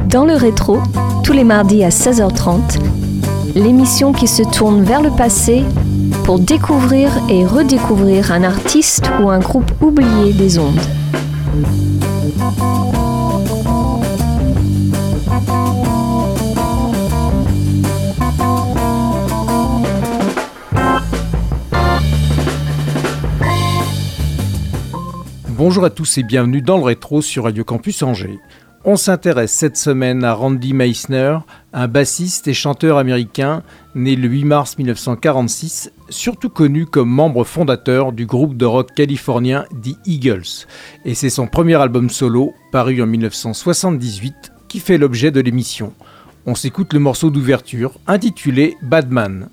Dans le rétro, tous les mardis à 16h30, l'émission qui se tourne vers le passé pour découvrir et redécouvrir un artiste ou un groupe oublié des ondes. Bonjour à tous et bienvenue dans le rétro sur Radio Campus Angers. On s'intéresse cette semaine à Randy Meisner, un bassiste et chanteur américain né le 8 mars 1946, surtout connu comme membre fondateur du groupe de rock californien The Eagles. Et c'est son premier album solo, paru en 1978, qui fait l'objet de l'émission. On s'écoute le morceau d'ouverture, intitulé Bad Man.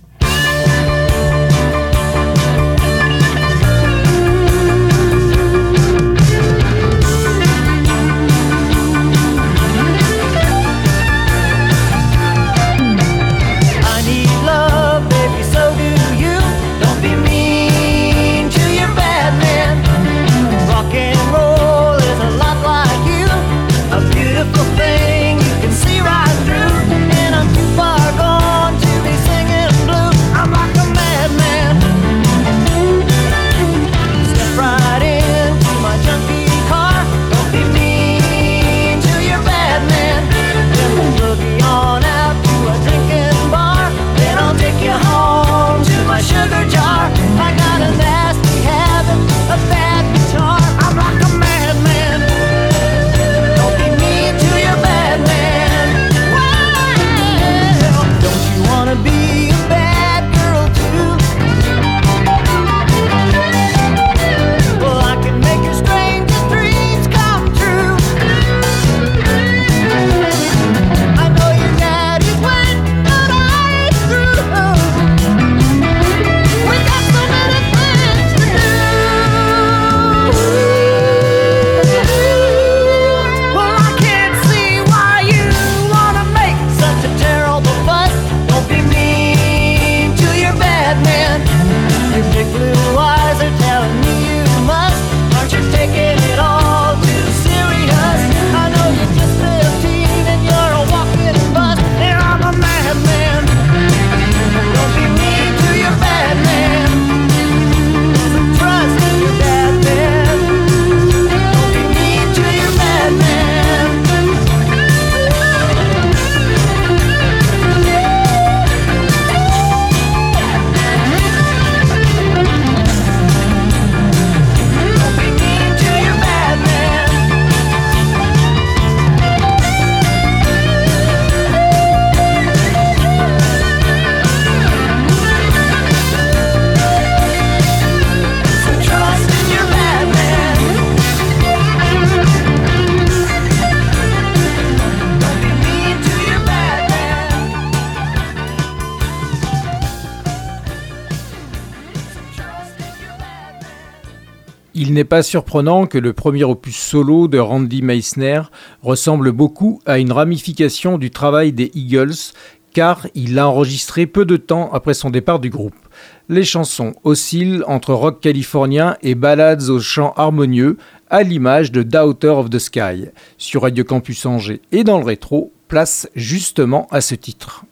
Il n'est pas surprenant que le premier opus solo de Randy Meisner ressemble beaucoup à une ramification du travail des Eagles, car il l'a enregistré peu de temps après son départ du groupe. Les chansons oscillent entre rock californien et ballades aux chants harmonieux, à l'image de Daughter of the Sky. Sur Radio Campus Angers et dans le rétro, place justement à ce titre.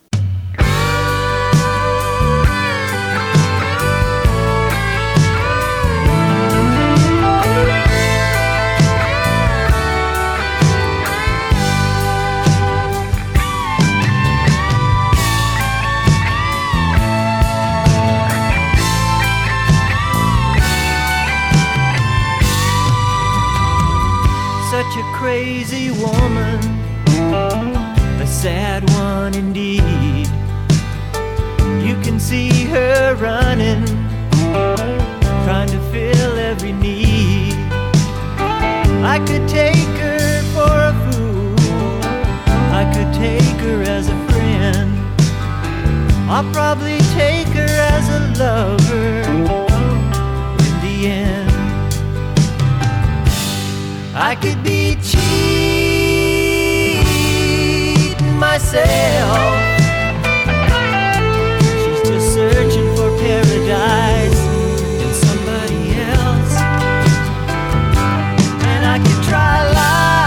Such a crazy woman, a sad one indeed. You can see her running, trying to fill every need. I could take her for a fool, I could take her as a friend. I'll probably take her as a lover in the end. I could be cheating myself. She's just searching for paradise in somebody else. And I could try lying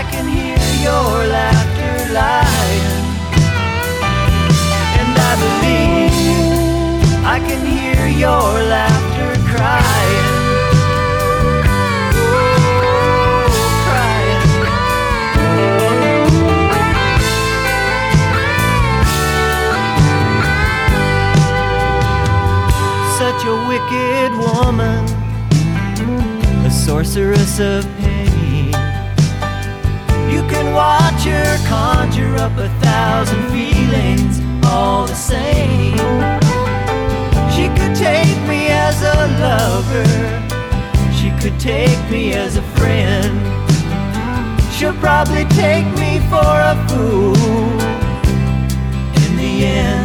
can hear your laughter lying, and I believe I can hear your laughter crying. Such a wicked woman, a sorceress of pain. You can watch her conjure up 1,000 feelings all the same. She could take me as a lover, she could take me as a friend. She'll probably take me for a fool in the end.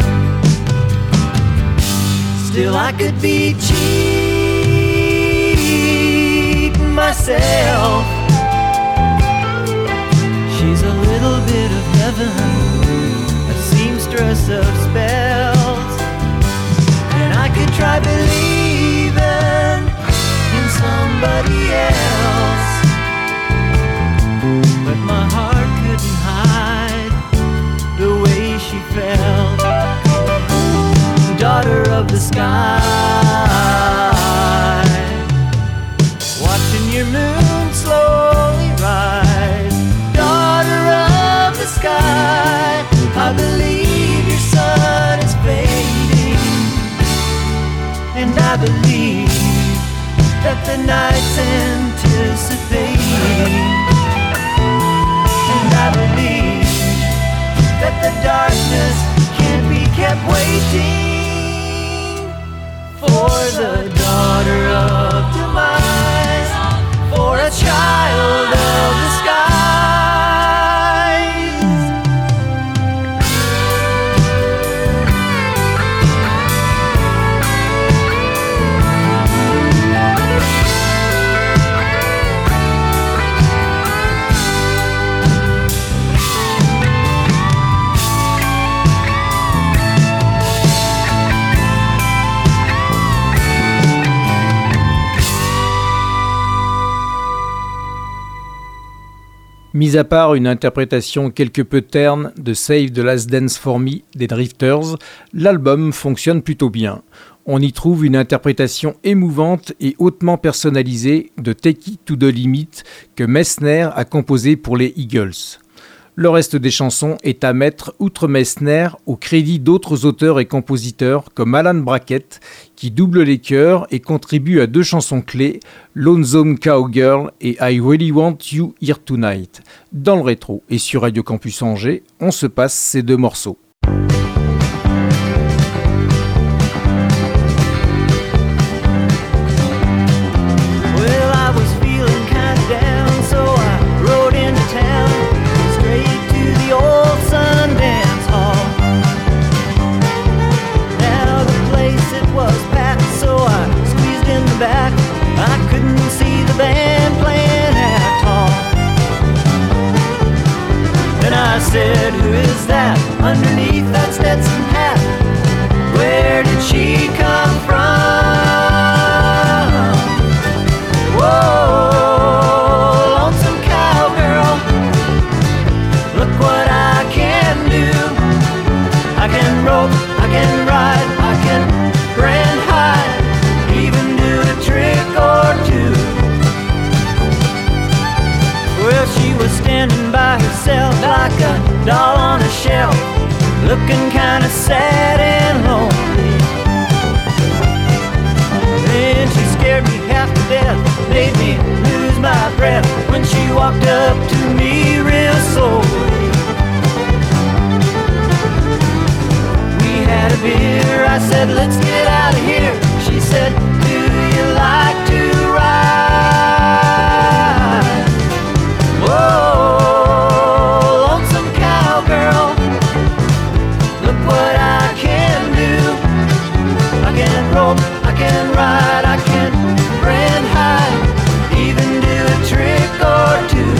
Still I could be cheating myself. She's a little bit of heaven, a seamstress of spells, and I could try believing in somebody else, but my heart couldn't hide the way she felt. Daughter of the sky, watching your moon slowly rise. Daughter of the sky, I believe your sun is fading, and I believe that the night's anticipating, and I believe that the darkness can't be kept waiting for the daughter of demise, for a child of the skies. Mis à part une interprétation quelque peu terne de Save the Last Dance for Me des Drifters, l'album fonctionne plutôt bien. On y trouve une interprétation émouvante et hautement personnalisée de Take It to the Limit que Messner a composé pour les Eagles. Le reste des chansons est à mettre, outre Messner, au crédit d'autres auteurs et compositeurs comme Alan Brackett, qui double les chœurs et contribue à 2 chansons clés, Lonesome Cowgirl et I Really Want You Here Tonight. Dans le rétro et sur Radio Campus Angers, on se passe ces 2 morceaux. I said, who is that underneath that Stetson hat? Where did she come from? Whoa, lonesome cowgirl, look what I can do. I can rope, I can ride, I can grand hide, even do a trick or two. Well, she was standing by herself like a doll on a shelf, looking kinda sad and lonely. Then she scared me half to death, made me lose my breath when she walked up to me real slowly. We had a beer, I said, let's get out of here. She said, do you like to ride? Whoa, lonesome cowgirl, look what I can do. I can rope, I can ride, I can grand hide, even do a trick or two.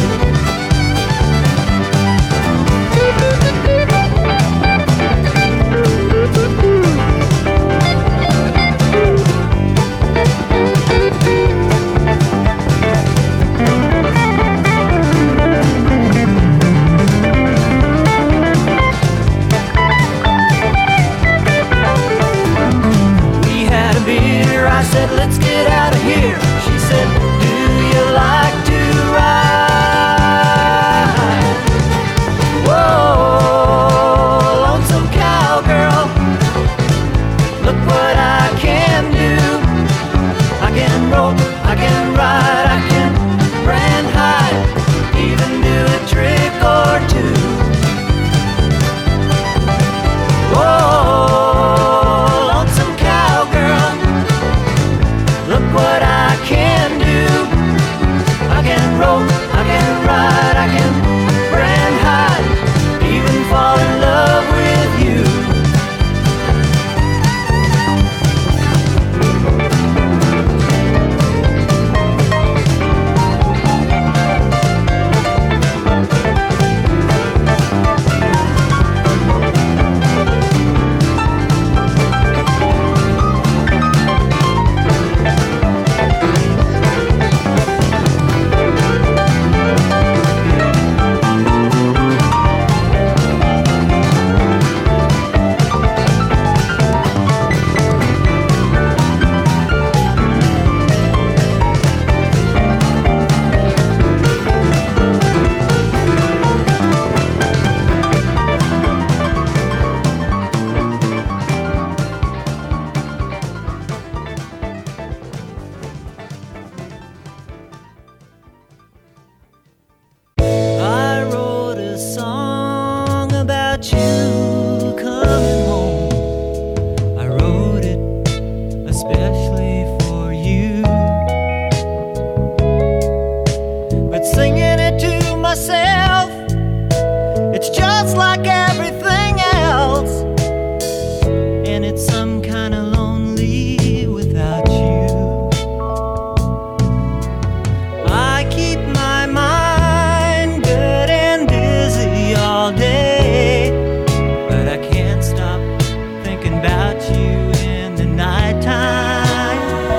myself. It's just like everything else, and it's some kind of lonely without you. I keep my mind good and busy all day, but I can't stop thinking about you in the nighttime.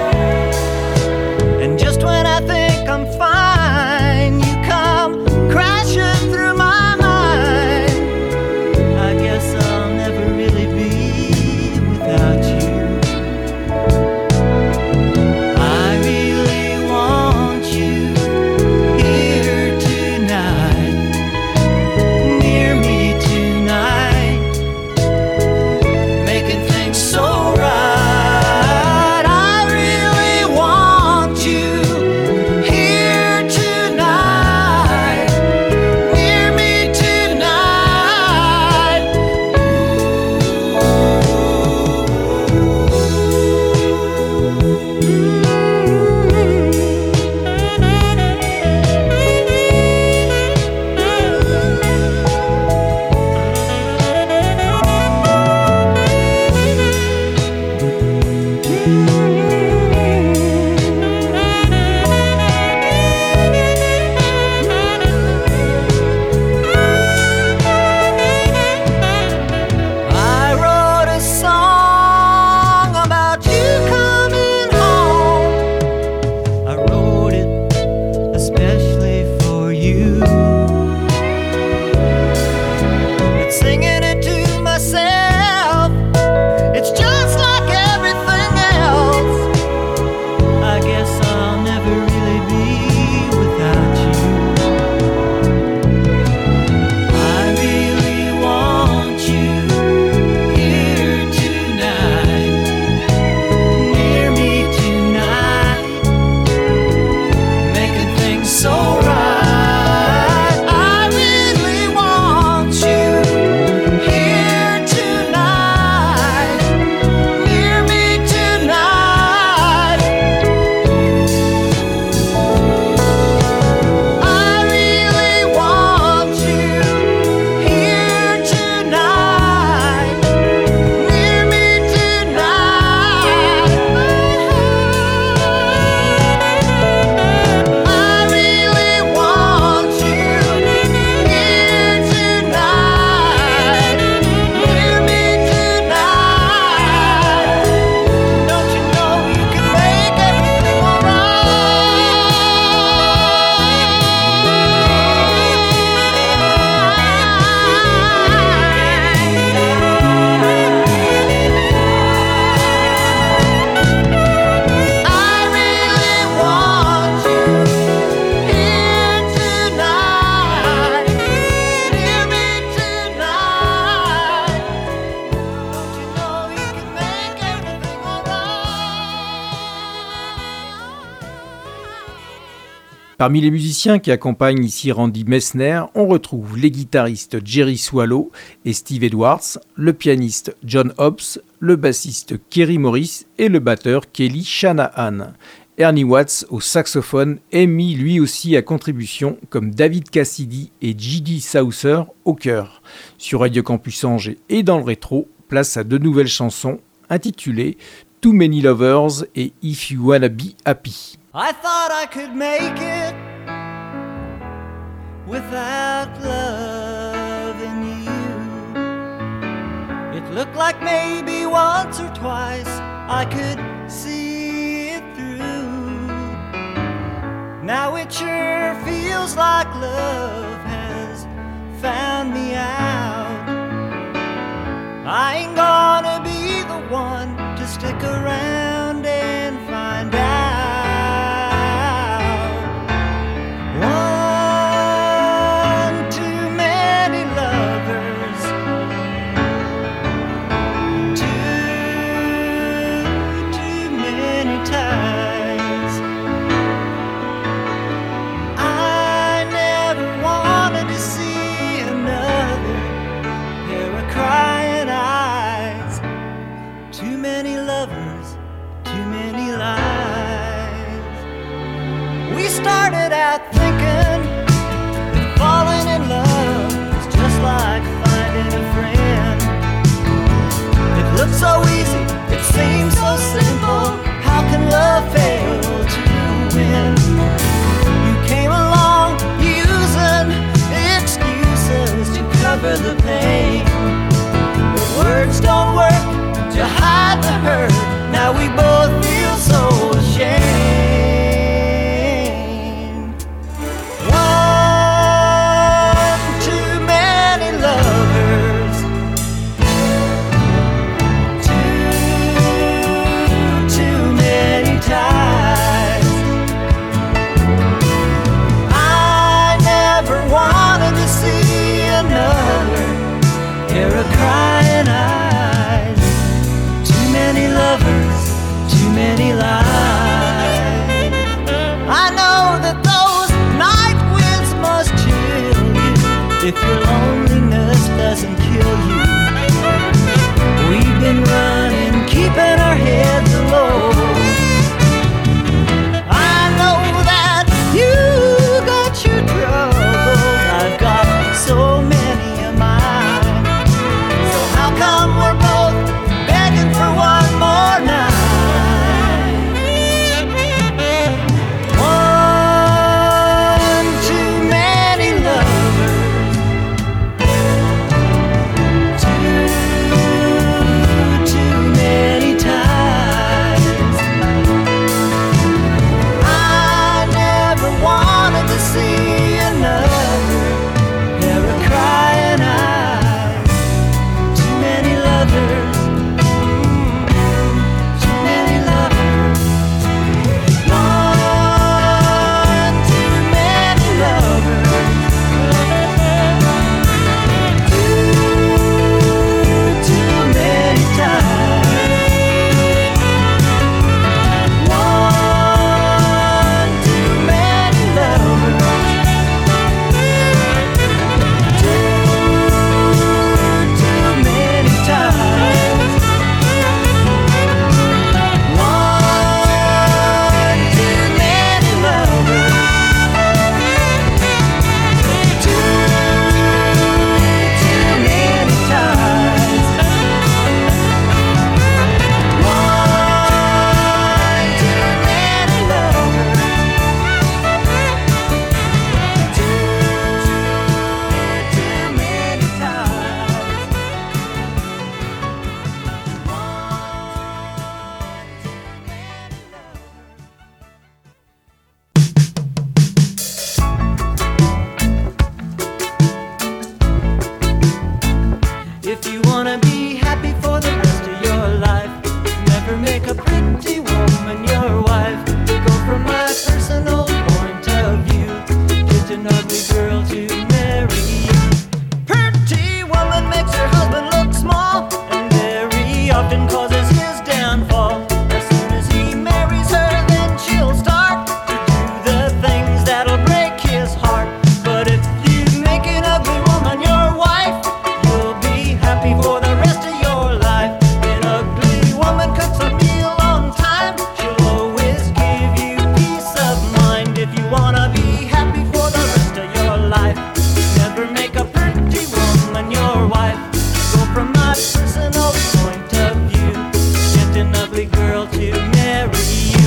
And just when I think I'm fine, you come crashing through my mind. I guess I'll never really be without you. I really want you here tonight, near me tonight, making things so right. I really want you here tonight, near me tonight. I wrote a song about you coming home. I wrote it especially for you. But singing it to myself, it's just like everything else. I guess I'll never really be without you. I really want you here tonight, near me tonight, making things so right. I really want you here tonight, near me tonight. I really want you here tonight, near me tonight. I really want you here tonight, near me tonight. Don't you know you can make everything alright? I really want you here tonight, near me tonight. Don't you know you can make everything alright? Parmi les musiciens qui accompagnent ici Randy Meisner, on retrouve les guitaristes Jerry Swallow et Steve Edwards, le pianiste John Hobbs, le bassiste Kerry Morris et le batteur Kelly Shanahan. Ernie Watts au saxophone est mis lui aussi à contribution, comme David Cassidy et J.D. Souther au chœur. Sur Radio Campus Angers et dans le rétro, place à deux nouvelles chansons intitulées Too Many Lovers et If You Wanna Be Happy. I thought I could make it without loving you. It looked like maybe once or twice I could see it through. Now it sure feels like love has found me out. I ain't gonna be the one to stick around and find out. One too many lovers, too many times. I never wanted to see another pair of crying eyes. Too many lovers, for the pain. But words don't work to hide the hurt. Now we both feel so ashamed. One too many lovers, too many ties. I never wanted to see another pair of crying eyes. Too many lovers, too many lies. I know that those night winds must chill you if your loneliness doesn't kill you. We've been running, keeping our heads low. I know that you got your troubles, I've got so many of mine. So how come we're both begging for one more night? One too many lovers, too many ties. I never wanted to see another pair of crying eyes. Too many lovers, too many lovers. One too many lovers, too many times. One too many lovers, too many times. One too many lovers, too many times. One too many lovers, too many If you wanna be happy for the rest of your life, never make a pretty woman your wife. Go from my personal point of view, get an ugly girl to marry. Pretty woman makes her husband look small and very often causes his downfall. As soon as he marries her, then she'll start to do the things that'll break his heart. But if you make an ugly woman your wife, you'll be happy for the rest of your life. An ugly woman cooks a meal on time, she'll always give you peace of mind. If you wanna be happy for the rest of your life, never make a pretty woman your wife. Go from my personal point of view, get an ugly girl to marry you.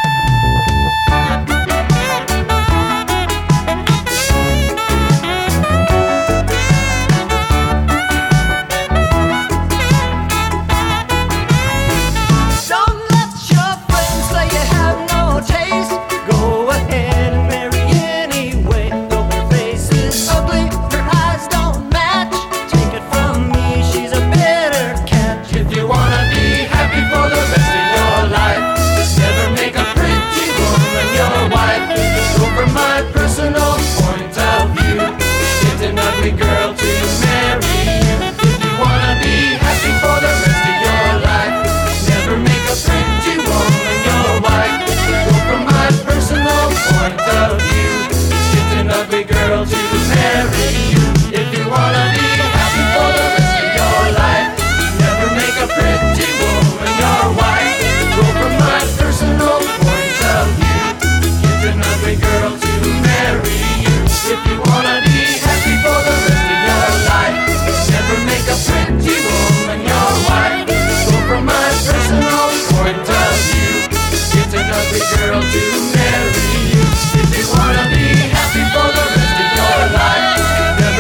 Don't let your friends say you have no taste. Go ahead and marry anyway. Though her face is ugly, her eyes don't match. Take it from me, she's a better catch. If you wanna be happy for the rest of your life, never make a pretty woman your wife. Go from my personal point of view, get an ugly girl to marry you. If you wanna be happy for the rest of your life, never make a pretty woman your wife. Go from my personal point of view, get an ugly girl to marry you. If you wanna be happy for the rest of your life, never make a pretty woman your wife. Go from my personal point of view, get an ugly girl to marry you. If you wanna be happy for the rest of your life, never make a pretty woman your wife. Go from my personal point of view, get an ugly girl to marry you. If you wanna be happy for the rest of your life,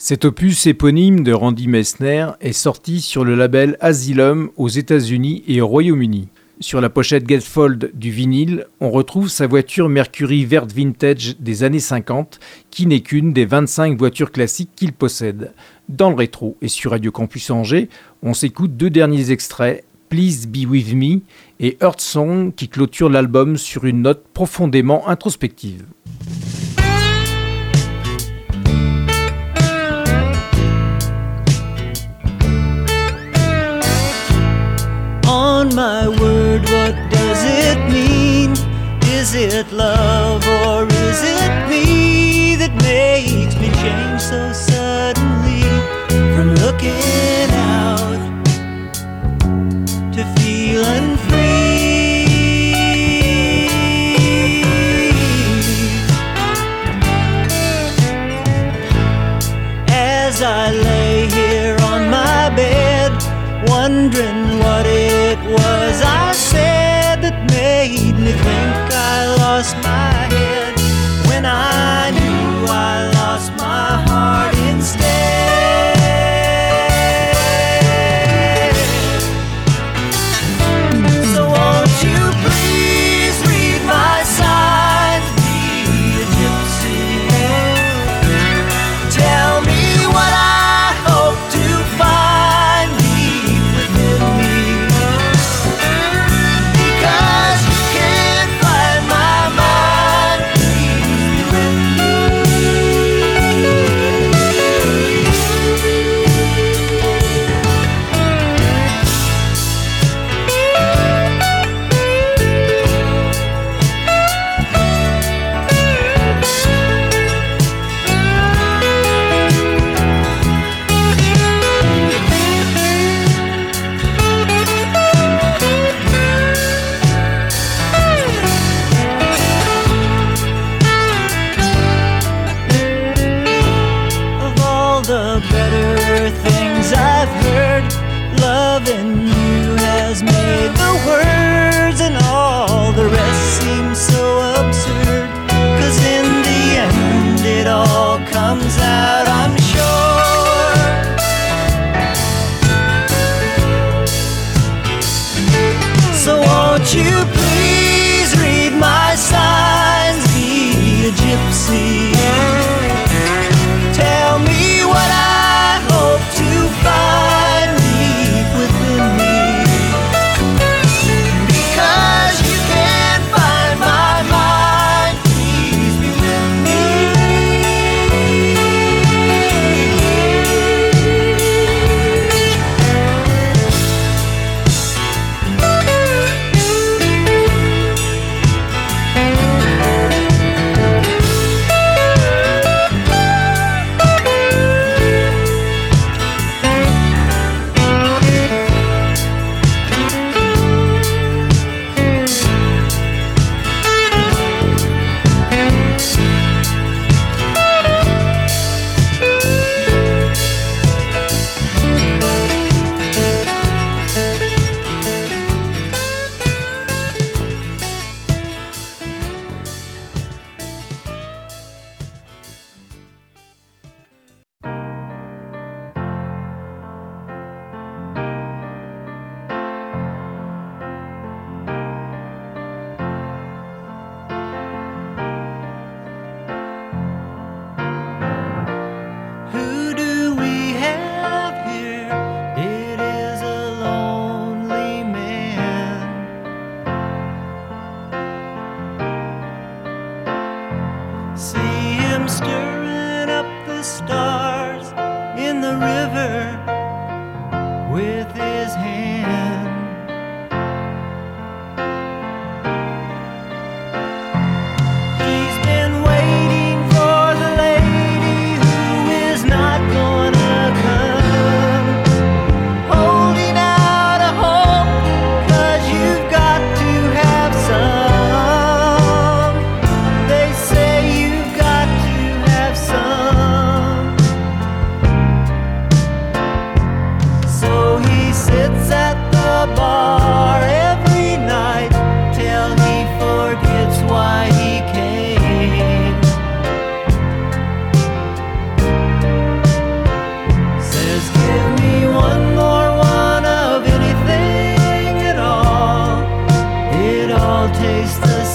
Cet opus éponyme de Randy Meisner est sorti sur le label Asylum aux États-Unis et au Royaume-Uni. Sur la pochette Gatefold du vinyle, on retrouve sa voiture Mercury verte vintage des années 50, qui n'est qu'une des 25 voitures classiques qu'il possède. Dans le rétro et sur Radio Campus Angers, on s'écoute 2 derniers extraits, Please Be With Me et Earth Song, qui clôture l'album sur une note profondément introspective. On my word, what does it mean? Is it love or is it me that makes me change so suddenly from looking out to feeling free? As I lay here on my bed, wondering what it was I said that made me think I lost my head, when I knew I lost my heart instead. So won't you please read my signs, be a gypsy. Tell me what I hope to find deep within me, because you can't find my mind. Please be with of all the better things I've heard, loving you has made the words and all the rest seem so absurd. 'Cause in the end it all comes out, I'm sure. So won't you please read my signs, be a gypsy. Tell me what I hope to find deep within me, because you can't find my mind. Please be with me.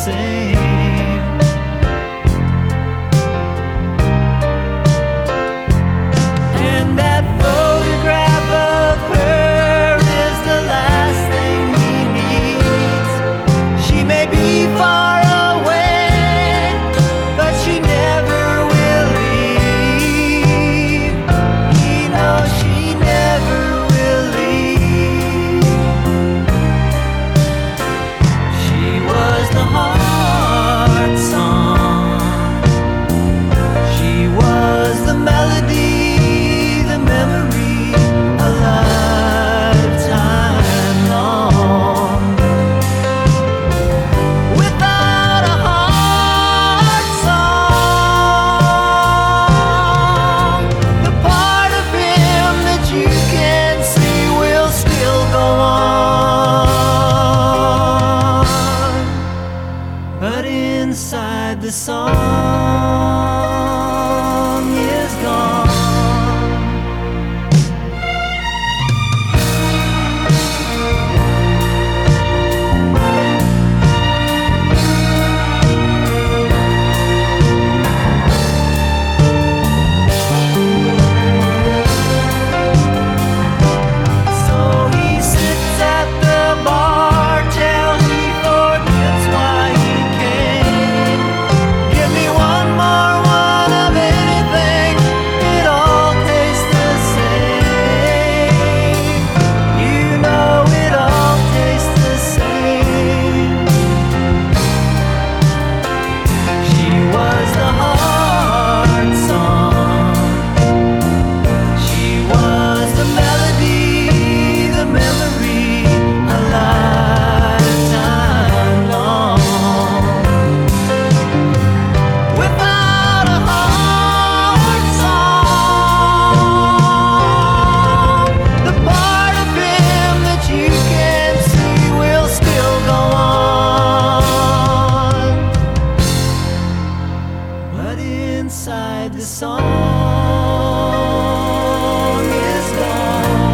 same. And that photograph of her is the last thing he needs. She may be far away, but she never will leave. He knows she never will leave. She was the heart song. She was the melody, the memory, a lifetime long. Without a heart song, the part of him that you can see will still go on. But inside the song is gone. So he sits at the bar till he forgets why he came. Give me one more one of anything, it all tastes the same. You know it all tastes the same. She was the heart song. She was the melody, the memory, a lifetime long. Without a heart song, the part of him that you can see will still go on. But inside the song is gone.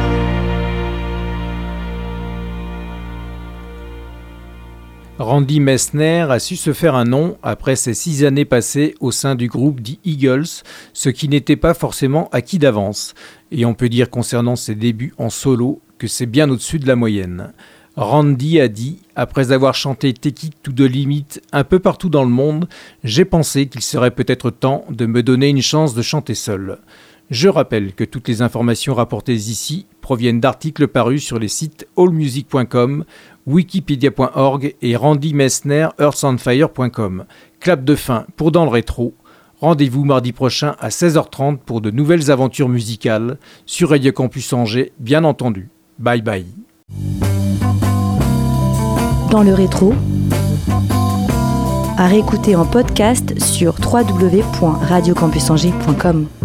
Randy Meisner a su se faire un nom après ses 6 années passées au sein du groupe The Eagles, ce qui n'était pas forcément acquis d'avance. Et on peut dire concernant ses débuts en solo que c'est bien au-dessus de la moyenne. Randy a dit, après avoir chanté Take It to the Limit un peu partout dans le monde, j'ai pensé qu'il serait peut-être temps de me donner une chance de chanter seul. Je rappelle que toutes les informations rapportées ici proviennent d'articles parus sur les sites allmusic.com, wikipedia.org et randymeisner.earthandfire.com. Clap de fin pour Dans le Rétro. Rendez-vous mardi prochain à 16h30 pour de nouvelles aventures musicales sur Radio Campus Angers, bien entendu. Bye bye. Dans le rétro, à réécouter en podcast sur www.radiocampusangers.com.